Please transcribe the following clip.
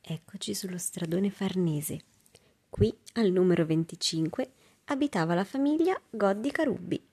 Eccoci sullo stradone Farnese. Qui, al numero 25, abitava la famiglia Goddi Carubbi.